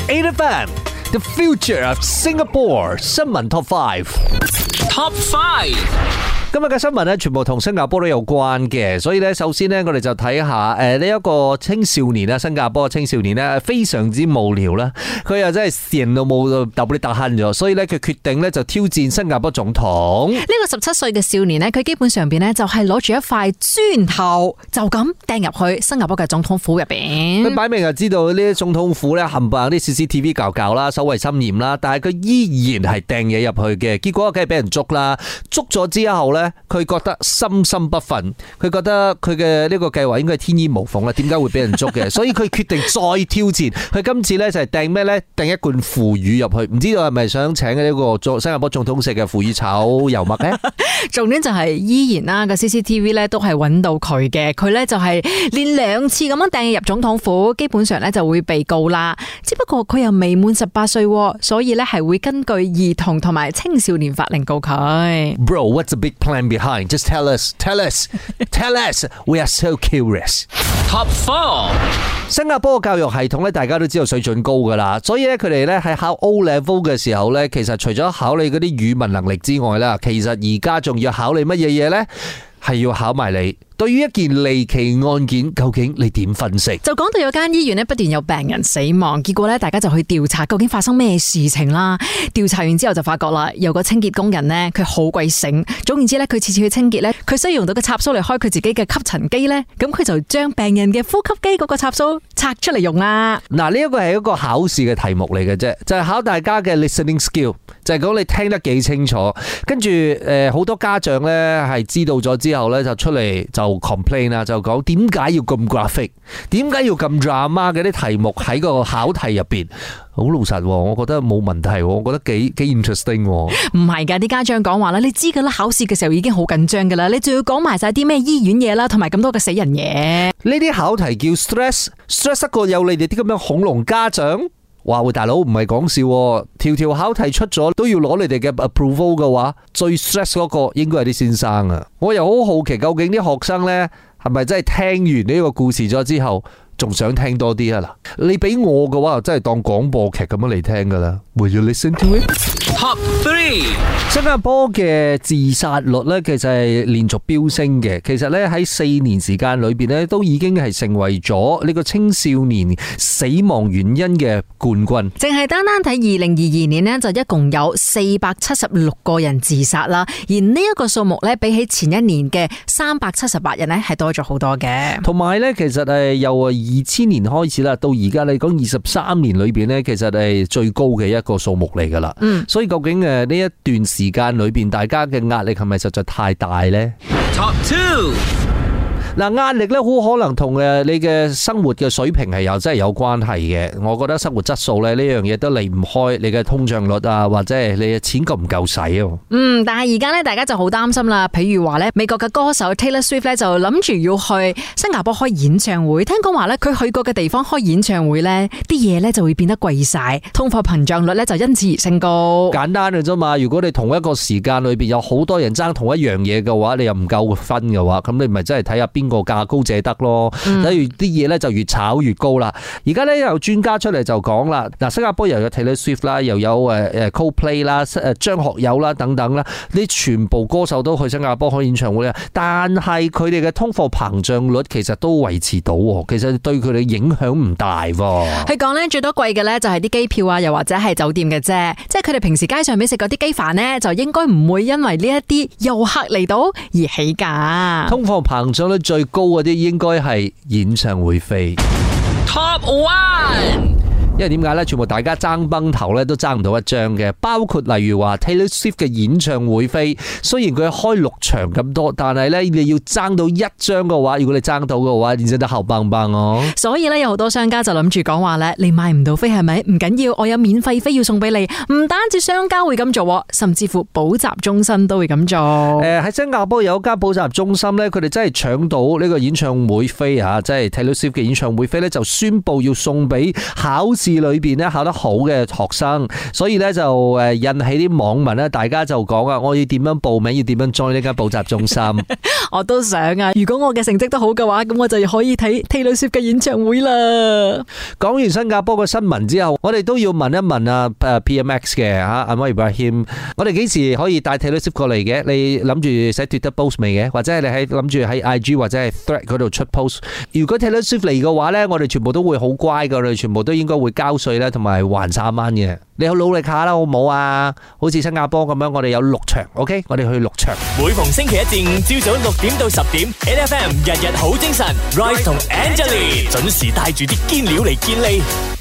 8FM，The Future of Singapore 新聞 Top 5。Top 5。今日嘅新聞咧，全部同新加坡都有關嘅，所以咧，首先咧，我哋就睇下呢一個青少年啦，新加坡嘅青少年咧，非常之無聊啦，佢又真係閒到冇到揼啲特慳咗，所以咧，佢決定咧就挑戰新加坡總統。 呢個17歲嘅少年咧，佢基本上邊咧就係攞住一塊磚頭，就咁掟入去新加坡嘅總統府入邊。 佢擺明就知道呢啲總統府咧冚唪唥啲 CCTV 搞啦，守衛森嚴啦，但係佢依然係掟嘢入去嘅，結果梗係俾人捉啦。捉咗之後咧，佢覺得心心不忿，佢覺得佢嘅呢個計劃應該係天衣無縫啦，點解會俾人捉嘅？所以佢決定再挑戰。佢今次咧就係掟咩咧？掟一罐腐乳入去，唔知道係咪想請呢個新加坡總統食嘅腐乳炒油麥咧？ 重點就係依然啦，個 CCTV 咧都係揾到佢嘅，佢咧就係連2次咁樣掟入總統府，基本上咧就會被告啦。只不過佢又未滿18歲，所以咧係會根據兒童同埋青少年法令告佢。 Bro, what's the big plan behind? Just tell us. We are so curious. Top 4。新加坡嘅教育系統咧，大家都知道水準高噶啦，所以咧佢哋咧喺考 O Level 嘅時候咧，其實除咗考你嗰啲語文能力之外啦，其實而家仲要考你乜嘢嘢咧？係要考埋你對於一件離奇案件，究竟你點分析？就講到有間醫院咧不斷有病人死亡，結果咧大家就去調查究竟發生咩事情啦。調查完之後就發覺啦，有個清潔工人咧，佢好鬼醒。總言之咧，佢次次去清潔咧，佢需要用到個插蘇嚟開佢自己嘅吸塵機咧，咁佢就將病人嘅呼吸機嗰個插蘇拆出嚟用啦。嗱，呢一個係一個考試嘅題目嚟嘅啫，就係考大家嘅 listening skill，就係講你聽得幾清楚。跟住好多家長咧係知道咗之後咧，就出嚟就 complain 啦，就講點解要咁 graphic， 點解要咁 drama 嘅啲題目喺個考題入邊？好老實，我覺得冇問題，我覺得幾 interesting。唔係噶，啲家長講話啦，你知噶啦，考試嘅時候已經好緊張噶啦，你仲要講埋晒啲咩醫院嘢啦，同埋咁多嘅死人嘢。呢啲考題叫 stress 得過有你哋啲咁樣恐龍家長？哇喂，大佬唔係講笑，條考題出咗都要攞你哋嘅 approval 嘅話，最 stress 嗰個應該係啲先生啊！我又好好奇，究竟啲學生呢係咪真係聽完呢個故事咗之後，仲想聽多啲啊？嗱，你俾我嘅話，真係當廣播劇咁樣嚟聽噶啦。Will you listen to it? Top 3。新加坡嘅自殺率咧，其實係連續飆升嘅。其實咧喺4年時間裏邊咧，都已經係成為咗呢個青少年死亡原因嘅冠軍。 淨係單單睇2022年呢，就一共有476個人自殺啦。而呢一個數目咧，比起前一年嘅378人咧，係多咗好多嘅。 同埋咧，其實係由2000年開始啦，到而家你講23年裏邊咧，其實係最高嘅一個數目嚟噶啦。所以究竟呢一段時間裏邊，大家嘅壓力係咪實在太大呢？ Top 2。嗱，壓力咧好可能同你嘅生活嘅水平係真係有關係嘅。我覺得生活質素咧呢樣嘢都離唔開你嘅通脹率啊，或者係你嘅錢夠唔夠使啊。 但係而家咧大家就好擔心啦。譬如話咧，美國嘅歌手 Taylor Swift 咧就諗住要去新加坡開演唱會。聽講話咧，佢去過嘅地方開演唱會咧，啲嘢咧就會變得貴晒，通貨膨脹率咧就因此而升高。簡單嘅啫嘛。如果你同一個時間裏邊有好多人爭同一樣嘢嘅話，你又唔夠分嘅話，咁你咪真係睇下邊個價高者得咯。例如啲嘢咧就越炒越高啦。而家咧有專家出嚟就講啦，嗱，新加坡又有 Taylor Swift 啦，又有Coldplay 啦，張學友啦等等啦，呢全部歌手都去新加坡開演唱會啦。但係佢哋嘅通貨膨脹率其實都維持到，其實對佢哋影響唔大。佢講咧最多貴嘅咧就係啲機票啊，又或者係酒店嘅啫。即係佢哋平時街上面食嗰啲雞飯呢，就應該唔會因為呢一啲遊客嚟到而起價。通貨膨脹率最高嗰啲應該係演唱會費。Top 1。因為點解咧？全部大家爭崩頭咧，都爭唔到一張嘅。包括例如話 Taylor Swift 嘅演唱會飛，雖然佢開6場咁多，但係咧你要爭到1張嘅話，如果你爭到嘅話，你真係後棒棒哦。 所以咧有好多商家就諗住講話咧，你買唔到飛係咪？唔緊要，我有免費飛要送俾你。唔單止商家會咁做，甚至乎補習中心都會咁做。 喺新加坡有一間補習中心咧，佢哋真係搶到呢個演唱會飛啊！即係 Taylor Swift 嘅演唱會飛咧，就宣布要送俾考試試裏邊咧考得好嘅學生，所以咧就引起啲網民咧，大家就講啊，我要點樣報名，要點樣 join 呢間補習中心。 我都想啊，如果我嘅成績都好嘅話，咁我就可以睇 Taylor Swift 嘅演唱會啦。 講完新加坡嘅新聞之後，我哋都要問一問啊 PMX 嘅Anwar Ibrahim，我哋幾時可以帶 Taylor Swift 過嚟嘅？你諗住寫 Twitter post 未嘅？或者係你諗住喺 IG 或者係 Thread 嗰度出 post？如果 Taylor Swift 嚟嘅話咧，我哋全部都會好乖噶，我哋全部都應該會交稅咧，同埋還3蚊嘅。你好努力下啦，好唔好啊？好似新加坡咁樣，我哋有6場 ，OK？ 我哋去6場。 每逢星期一至5朝早6點到10點 ，8FM 日日好精神 ，Rise 同 Angelie 準時帶住啲堅料嚟健利。